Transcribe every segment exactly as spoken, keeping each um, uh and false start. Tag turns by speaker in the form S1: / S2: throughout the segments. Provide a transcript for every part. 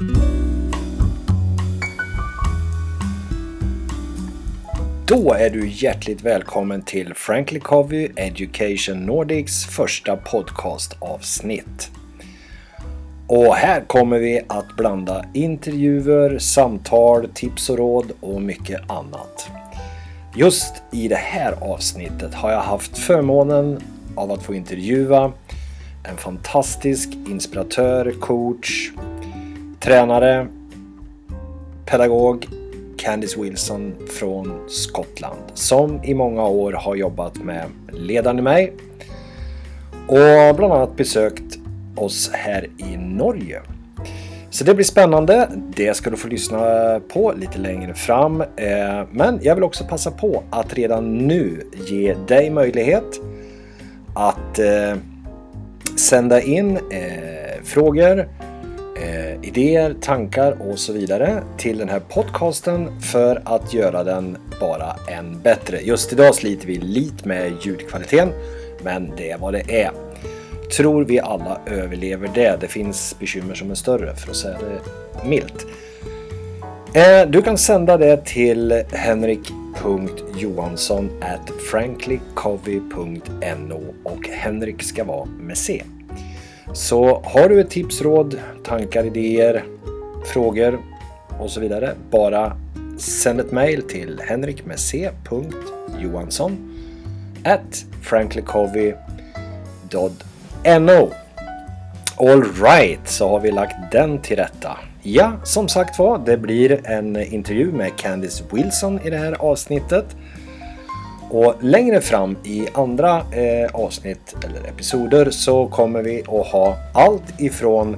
S1: Då är du hjärtligt välkommen till Frankly Covey Education Nordics första podcastavsnitt. Och här kommer vi att blanda intervjuer, samtal, tips och råd och mycket annat. Just i det här avsnittet har jag haft förmånen av att få intervjua en fantastisk inspiratör, coach, tränare, pedagog, Candice Wilson från Skottland, som i många år har jobbat med Ledaren i mig och bland annat besökt oss här i Norge. Så det blir spännande, det ska du få lyssna på lite längre fram. Men jag vill också passa på att redan nu ge dig möjlighet att sända in frågor, Eh, idéer, tankar och så vidare till den här podcasten för att göra den bara än bättre. Just idag sliter vi lite med ljudkvaliteten, men det är vad det är. Tror vi alla överlever det. Det finns bekymmer som är större, för att säga det milt. Eh, du kan sända det till henrik punkt johansson at franklycovey punkt no och Henrik ska vara med C. Så har du ett tips, råd, tankar, idéer, frågor och så vidare, bara sänd ett mail till henrik med c punkt johansson at franklycovey punkt no. All right, så har vi lagt den till rätta. Ja, som sagt var, det blir en intervju med Candice Wilson i det här avsnittet. Och längre fram i andra eh, avsnitt eller episoder så kommer vi att ha allt ifrån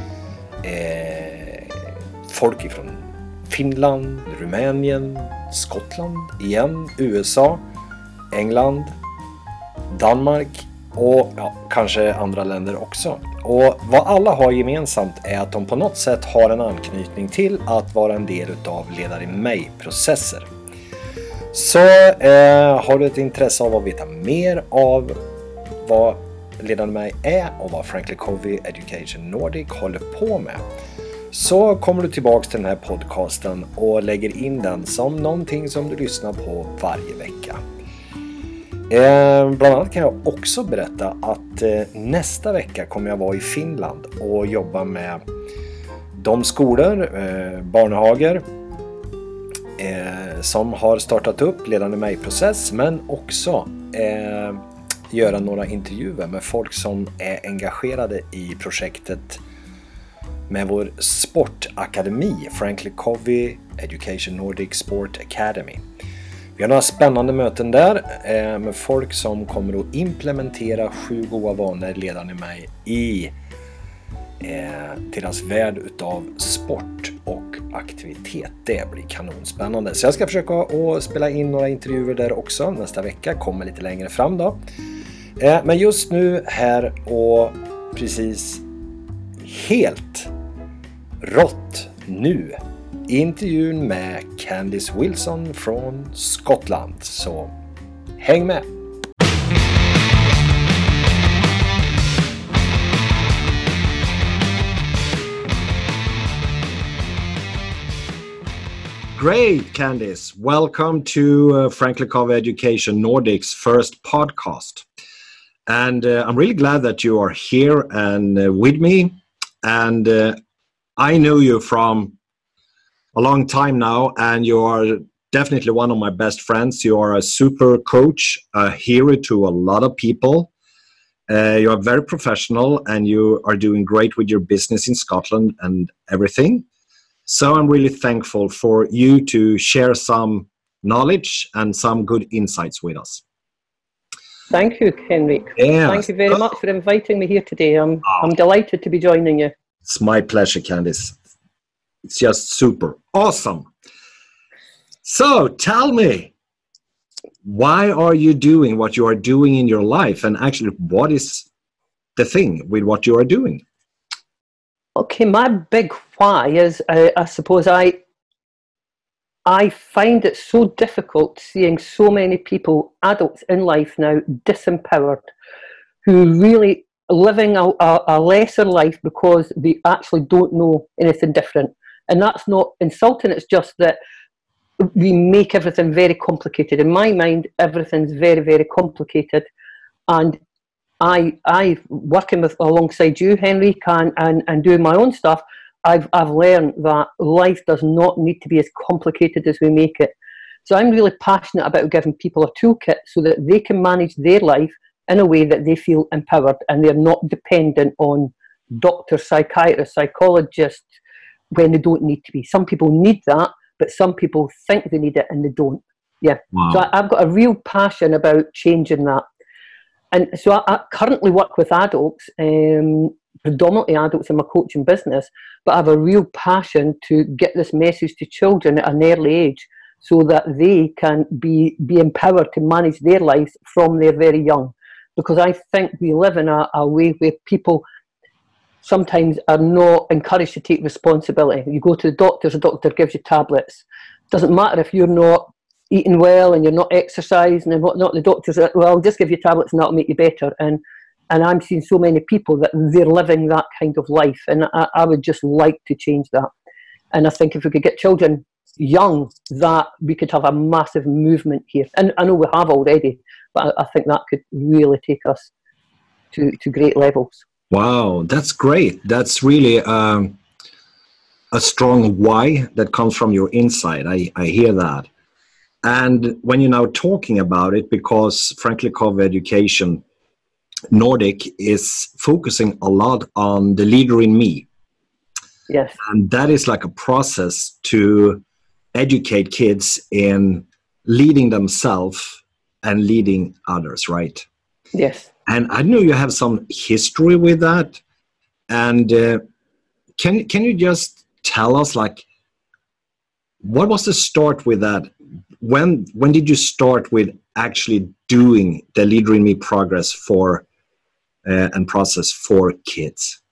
S1: eh, folk ifrån Finland, Rumänien, Skottland igen, U S A, England, Danmark och ja, kanske andra länder också. Och vad alla har gemensamt är att de på något sätt har en anknytning till att vara en del av Ledare i mig-processer. Så eh, har du ett intresse av att veta mer av vad Ledaren i mig är och vad Frankly Covey Education Nordic håller på med, så kommer du tillbaks till den här podcasten och lägger in den som någonting som du lyssnar på varje vecka. Eh, bland annat kan jag också berätta att eh, nästa vecka kommer jag vara i Finland och jobba med de skolor, eh, barnhager, Eh, som har startat upp Ledaren i mig-process, men också eh, göra några intervjuer med folk som är engagerade i projektet med vår sportakademi, Frankly Covey Education Nordic Sport Academy. Vi har några spännande möten där eh, med folk som kommer att implementera sju goda vanor Ledaren i mig i Eh, deras värld utav sport och aktivitet. Det blir kanonspännande. Så jag ska försöka att spela in några intervjuer där också nästa vecka. Kommer lite längre fram då. Eh, men just nu här och precis helt rått nu intervjun med Candice Wilson från Skottland. Så häng med! Great, Candice. Welcome to uh, Frankly Covey Education Nordic's first podcast. And uh, I'm really glad that you are here and uh, with me. And uh, I know you from a long time now, and you are definitely one of my best friends. You are a super coach, a hero to a lot of people. Uh, you are very professional, and you are doing great with your business in Scotland and everything. So I'm really thankful for you to share some knowledge and some good insights with us.
S2: Thank you, Henrik.
S1: Yeah.
S2: Thank you very much for inviting me here today. I'm oh. I'm delighted to be joining you.
S1: It's my pleasure, Candice. It's just super awesome. So tell me, why are you doing what you are doing in your life, and actually what is the thing with what you are doing?
S2: Okay, my big why is, uh, I suppose, I I find it so difficult seeing so many people, adults in life now, disempowered, who really living a, a, a lesser life because they actually don't know anything different. And that's not insulting, it's just that we make everything very complicated. In my mind, everything's very, very complicated. And I, I working with alongside you, Henrik, and, and, and doing my own stuff, I've, I've learned that life does not need to be as complicated as we make it. So I'm really passionate about giving people a toolkit so that they can manage their life in a way that they feel empowered and they're not dependent on doctors, psychiatrists, psychologists when they don't need to be. Some people need that, but some people think they need it and they don't. Yeah. Wow. So I, I've got a real passion about changing that. And so I, I currently work with adults, um, predominantly adults in my coaching business, but I have a real passion to get this message to children at an early age so that they can be, be empowered to manage their lives from they're very young. Because I think we live in a, a way where people sometimes are not encouraged to take responsibility. You go to the doctor, the doctor gives you tablets. Doesn't matter if you're not eating well and you're not exercising and whatnot, the doctors are, well, I'll just give you tablets and that'll make you better. And and I'm seeing so many people that they're living that kind of life, and I, I would just like to change that. And I think if we could get children young, that we could have a massive movement here. And I know we have already, but I, I think that could really take us to, to great levels.
S1: Wow, that's great. That's really um, a strong why that comes from your inside. I, I hear that. And when you're now talking about it, because Frankly Covey Education Nordic is focusing a lot on the leader in me.
S2: Yes.
S1: And that is like a process to educate kids in leading themselves and leading others, right?
S2: Yes.
S1: And I know you have some history with that. And uh, can can you just tell us, like, what was the start with that? When when did you start with actually doing the Leader in Me progress for uh, and process for kids?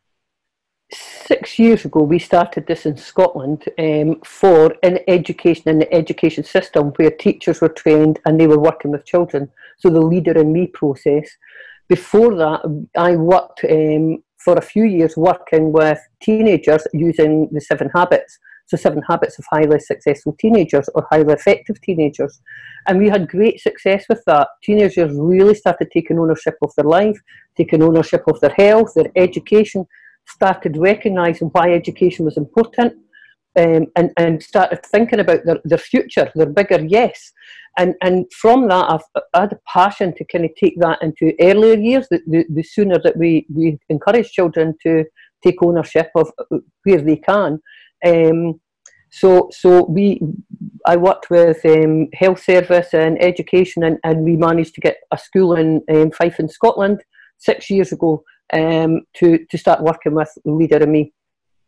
S2: Six years ago, we started this in Scotland um, for in education, in the education system, where teachers were trained and they were working with children. So the Leader in Me process. Before that, I worked um, for a few years working with teenagers using the Seven Habits. So Seven Habits of Highly Successful Teenagers or Highly Effective Teenagers. And we had great success with that. Teenagers really started taking ownership of their life, taking ownership of their health, their education, started recognising why education was important, um, and, and started thinking about their, their future, their bigger yes. And and from that, I've I had a passion to kind of take that into earlier years. The, the, the sooner that we, we encourage children to take ownership of where they can. Um, so so we, I worked with um, health service and education, and, and we managed to get a school in um, Fife in Scotland six years ago um, to, to start working with Leader in Me.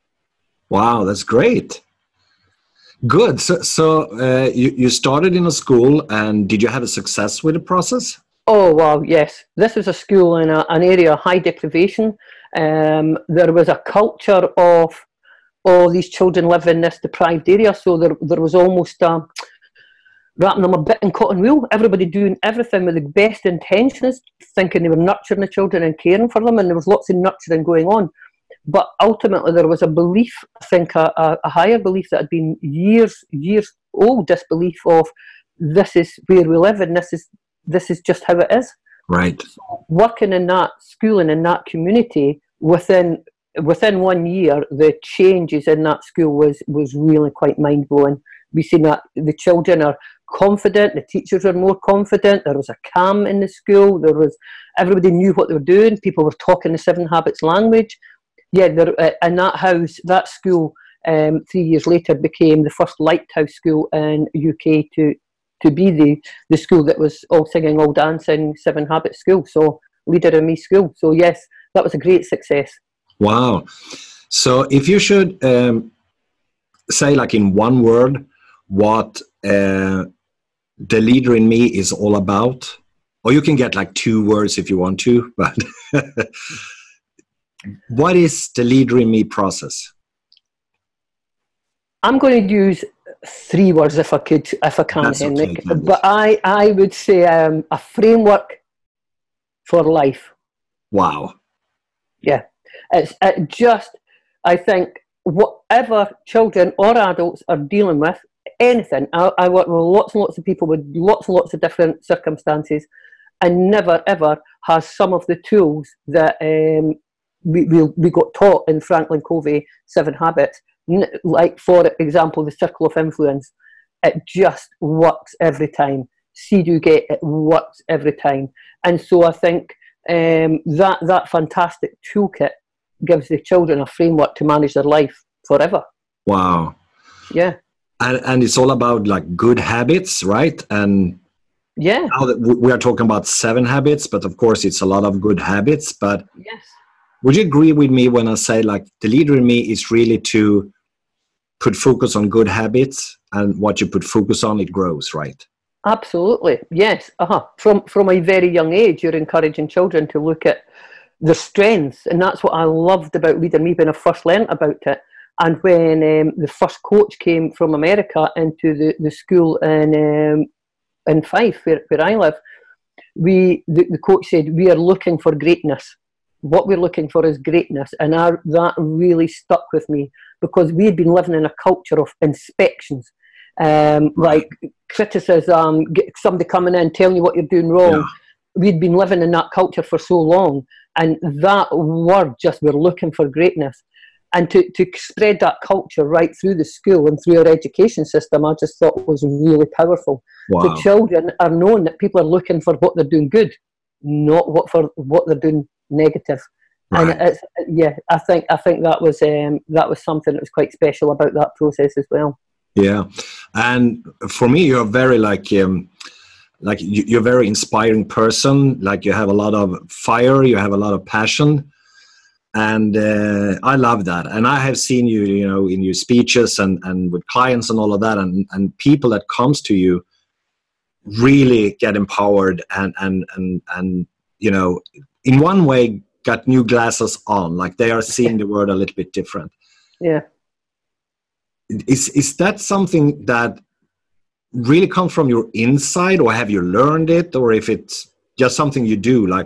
S1: Wow, that's great. Good. So, so uh, you, you started in a school, and did you have a success with the process?
S2: Oh, wow, yes. This was a school in a, an area of high deprivation. Um, there was a culture of all these children live in this deprived area, so there, there was almost a, wrapping them a bit in cotton wool, everybody doing everything with the best intentions, thinking they were nurturing the children and caring for them, and there was lots of nurturing going on. But ultimately there was a belief, I think a, a, a higher belief that had been years, years old, this belief of this is where we live and this is this is just how it is.
S1: Right.
S2: So working in that school and in that community, within within one year, the changes in that school was, was really quite mind-blowing. We've seen that the children are confident, the teachers are more confident, there was a calm in the school, there was everybody knew what they were doing, people were talking the Seven Habits language. Yeah, there, uh, and that house, that school, um, three years later became the first lighthouse school in the U K to to be the, the school that was all singing, all dancing, Seven Habits school. So Leader in Me school. So yes, that was a great success.
S1: Wow. So if you should um, say, like in one word, what uh, the Leader in Me is all about, or you can get like two words if you want to, but what is the Leader in Me process?
S2: I'm going to use three words if I could, if I can,
S1: That's
S2: Henrik.
S1: Okay,
S2: but I, I would say um, a framework for life.
S1: Wow.
S2: Yeah, it's it just, I think, whatever children or adults are dealing with, anything, I, I work with lots and lots of people with lots and lots of different circumstances, and never ever has some of the tools that um, we, we we got taught in Franklin Covey Seven Habits, like for example the circle of influence. It just works every time. See, do, get, it works every time. And so I think um, that that fantastic toolkit gives the children a framework to manage their life forever.
S1: Wow.
S2: Yeah.
S1: And, and it's all about like good habits, right? And
S2: yeah,
S1: now that we are talking about seven habits, but of course it's a lot of good habits. But
S2: yes,
S1: would you agree with me when I say like the leader in me is really to put focus on good habits, and what you put focus on, it grows, right?
S2: Absolutely, yes. Uh-huh. From from a very young age, you're encouraging children to look at their strengths, and that's what I loved about Leader Me when I first learnt about it. And when um, the first coach came from America into the, the school in um, in Fife, where, where I live, we the, the coach said, we are looking for greatness. What we're looking for is greatness. And I, that really stuck with me, because we had been living in a culture of inspections, um, like criticism, somebody coming in telling you what you're doing wrong. Yeah. We'd been living in that culture for so long, and that word just, we're looking for greatness. And to, to spread that culture right through the school and through our education system, I just thought was really powerful. Wow. The children are knowing that people are looking for what they're doing good, not what for what they're doing negative. Right. And it's, yeah, I think I think that was um, that was something that was quite special about that process as well.
S1: Yeah, and for me, you're very like um, like you're a very inspiring person. Like you have a lot of fire, you have a lot of passion. And uh, I love that. And I have seen you, you know, in your speeches and, and with clients and all of that, and, and people that comes to you really get empowered and, and, and, and, you know, in one way got new glasses on, like they are seeing the world a little bit different.
S2: Yeah.
S1: Is, is that something that really comes from your inside, or have you learned it, or if it's just something you do, like?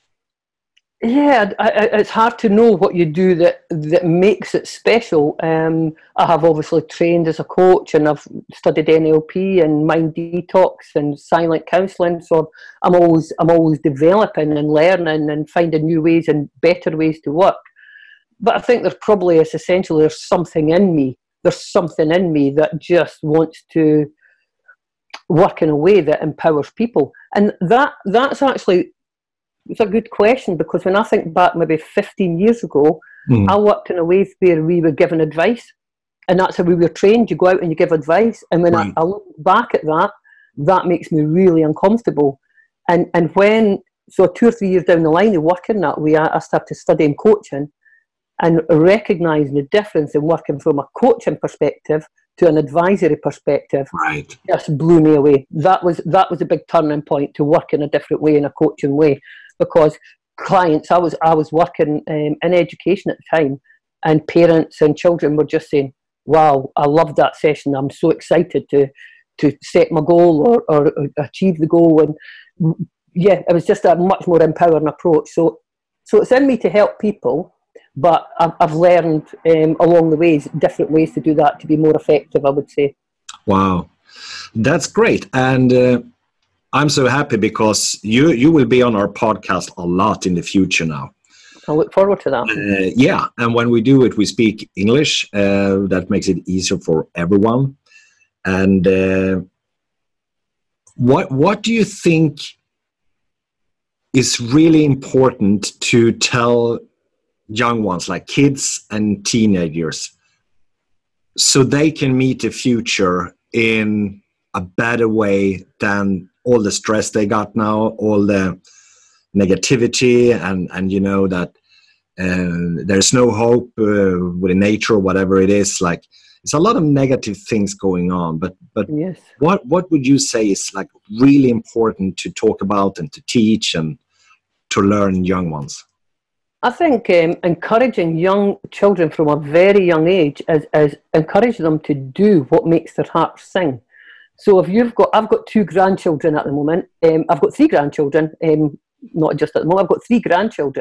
S2: Yeah, I, I, it's hard to know what you do that that makes it special. Um, I have obviously trained as a coach, and I've studied N L P and mind detox and silent counselling. So I'm always I'm always developing and learning and finding new ways and better ways to work. But I think there's probably, it's essentially, there's something in me. There's something in me that just wants to work in a way that empowers people, and that that's actually. It's a good question, because when I think back maybe fifteen years ago, mm. I worked in a way where we were given advice, and that's how we were trained. You go out and you give advice, and when right. I, I look back at that, that makes me really uncomfortable. And and when, so two or three years down the line of working that way, I, I started studying coaching and recognising the difference in working from a coaching perspective to an advisory perspective.
S1: Right.
S2: Just blew me away. That was that was a big turning point, to work in a different way, in a coaching way. Because clients, I was I was working um, in education at the time, and parents and children were just saying, "Wow, I loved that session. I'm so excited to to set my goal or, or, or achieve the goal." And yeah, it was just a much more empowering approach. So, so it's in me to help people, but I've, I've learned um, along the ways different ways to do that to be more effective, I would say.
S1: Wow, that's great. And Uh... I'm so happy, because you you will be on our podcast a lot in the future now.
S2: I look forward to that.
S1: Uh, yeah, and when we do it, we speak English. Uh, that makes it easier for everyone. And uh, what what do you think is really important to tell young ones, like kids and teenagers, so they can meet the future in a better way than all the stress they got now, all the negativity, and, and you know, that uh, there's no hope uh, with nature or whatever it is. Like, it's a lot of negative things going on, but but
S2: yes.
S1: what what would you say is like really important to talk about and to teach and to learn young ones?
S2: I think um, encouraging young children from a very young age is, is encourage them to do what makes their heart sing. So if you've got, I've got two grandchildren at the moment. Um, I've got three grandchildren, um, not just at the moment. I've got three grandchildren,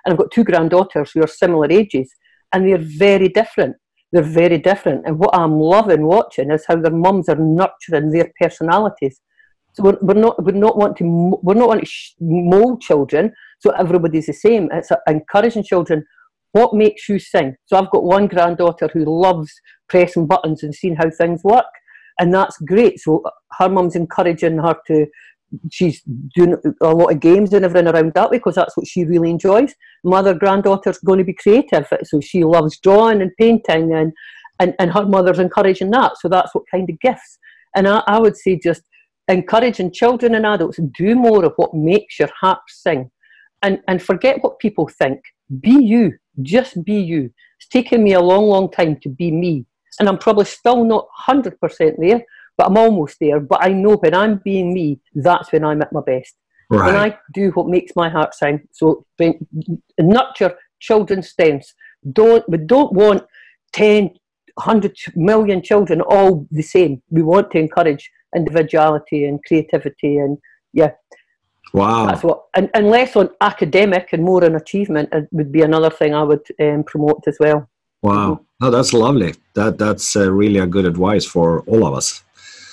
S2: And I've got two granddaughters who are similar ages, and they're very different. They're very different. And what I'm loving watching is how their mums are nurturing their personalities. So we're, we're not we're not want to we're not want to mold children so everybody's the same. It's encouraging children. What makes you sing? So I've got one granddaughter who loves pressing buttons and seeing how things work, and that's great. So her mum's encouraging her to. She's doing a lot of games and everything around that way because that's what she really enjoys. My other granddaughter's going to be creative, so she loves drawing and painting, and, and, and her mother's encouraging that. So that's what kind of gifts. And I, I would say just encouraging children and adults to do more of what makes your heart sing, and, and forget what people think. Be you. Just be you. It's taken me a long, long time to be me, and I'm probably still not one hundred percent there, but I'm almost there. But I know when I'm being me, that's when I'm at my best.
S1: Right.
S2: When I do what makes my heart sing. So nurture children's strengths. Don't we don't want ten, one hundred million children all the same. We want to encourage individuality and creativity, and yeah.
S1: Wow.
S2: That's what, and, and less on academic and more on achievement would be another thing I would um, promote as well.
S1: Wow.
S2: Mm-hmm.
S1: No, that's lovely. That that's uh, really a good advice for all of us.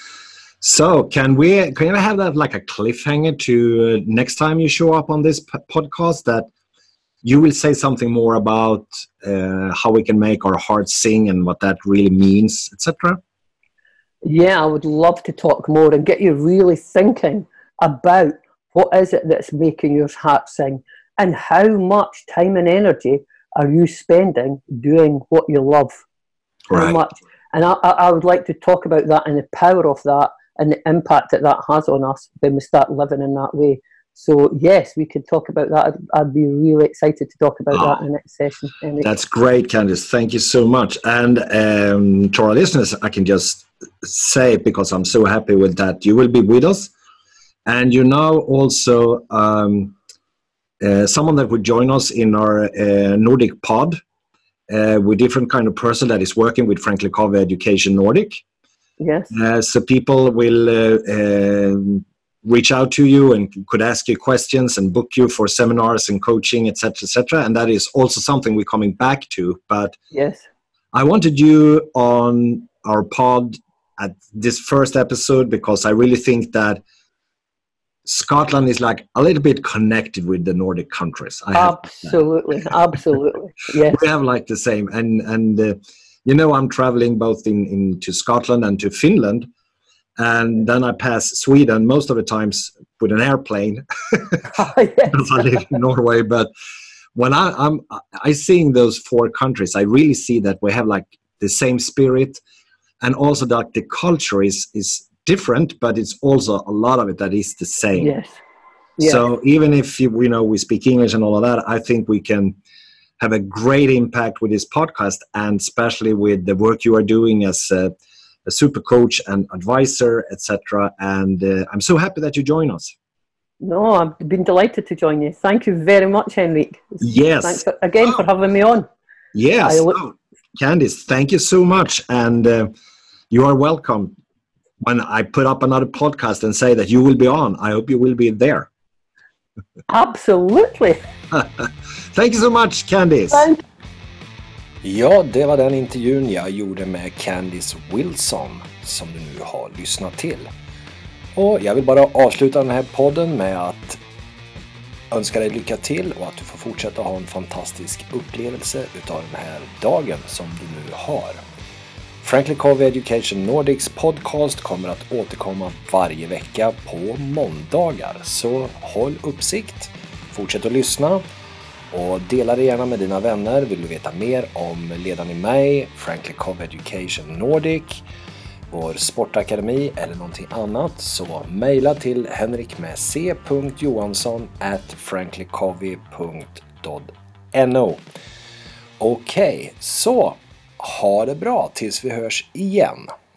S1: So can we can I have that like a cliffhanger to uh, next time you show up on this p- podcast that you will say something more about uh, how we can make our hearts sing and what that really means, et cetera?
S2: Yeah, I would love to talk more and get you really thinking about what is it that's making your heart sing, and how much time and energy are you spending doing what you love?
S1: Right.
S2: How much? And I, I would like to talk about that and the power of that and the impact that that has on us when we start living in that way. So yes, we could talk about that. I'd, I'd be really excited to talk about oh, that in the next session. Anyway.
S1: That's great, Candice. Thank you so much. And um, to our listeners, I can just say, because I'm so happy with that, you will be with us. And you now also um, uh, someone that would join us in our uh, Nordic pod uh, with different kind of person that is working with Frankly Covey Education Nordic.
S2: Yes.
S1: Uh, so people will uh, uh, reach out to you and could ask you questions and book you for seminars and coaching, et cetera, et cetera. And that is also something we're coming back to. But
S2: yes,
S1: I wanted you on our pod at this first episode because I really think that Scotland is like a little bit connected with the Nordic countries. I
S2: absolutely, absolutely. Yes.
S1: We have like the same. And, and uh, you know, I'm traveling both in, in to Scotland and to Finland. And then I pass Sweden most of the times with an airplane
S2: oh, yes.
S1: because I live in Norway. But when I, I'm I seeing those four countries, I really see that we have like the same spirit, and also that the culture is is different, but it's also a lot of it that is the same.
S2: Yes. yes.
S1: So even if you, you know we speak English and all of that, I think we can have a great impact with this podcast, and especially with the work you are doing as a, a super coach and advisor, et cetera. And uh, I'm so happy that you join us.
S2: No, I've been delighted to join you. Thank you very much, Henrik.
S1: Yes.
S2: Thanks for, again oh. for having me on.
S1: Yes. Look- oh, Candice, thank you so much. And uh, you are welcome. When I put up another podcast and say that you will be on, I hope you will be there.
S2: Absolutely.
S1: Thank you so much, Candice.
S2: Thank-
S1: ja, det var den intervjun jag gjorde med Candice Wilson som du nu har lyssnat till. Och jag vill bara avsluta den här podden med att önska dig lycka till och att du får fortsätta ha en fantastisk upplevelse utav den här dagen som du nu har. Frankly Covey Education Nordics podcast kommer att återkomma varje vecka på måndagar. Så håll uppsikt, fortsätt att lyssna och dela det gärna med dina vänner. Vill du veta mer om Ledaren i mig, Frankly Covey Education Nordic, vår sportakademi eller någonting annat, så mejla till henrik med c punkt johansson at franklycovey punkt no. Okej, okay, så ha det bra tills vi hörs igen.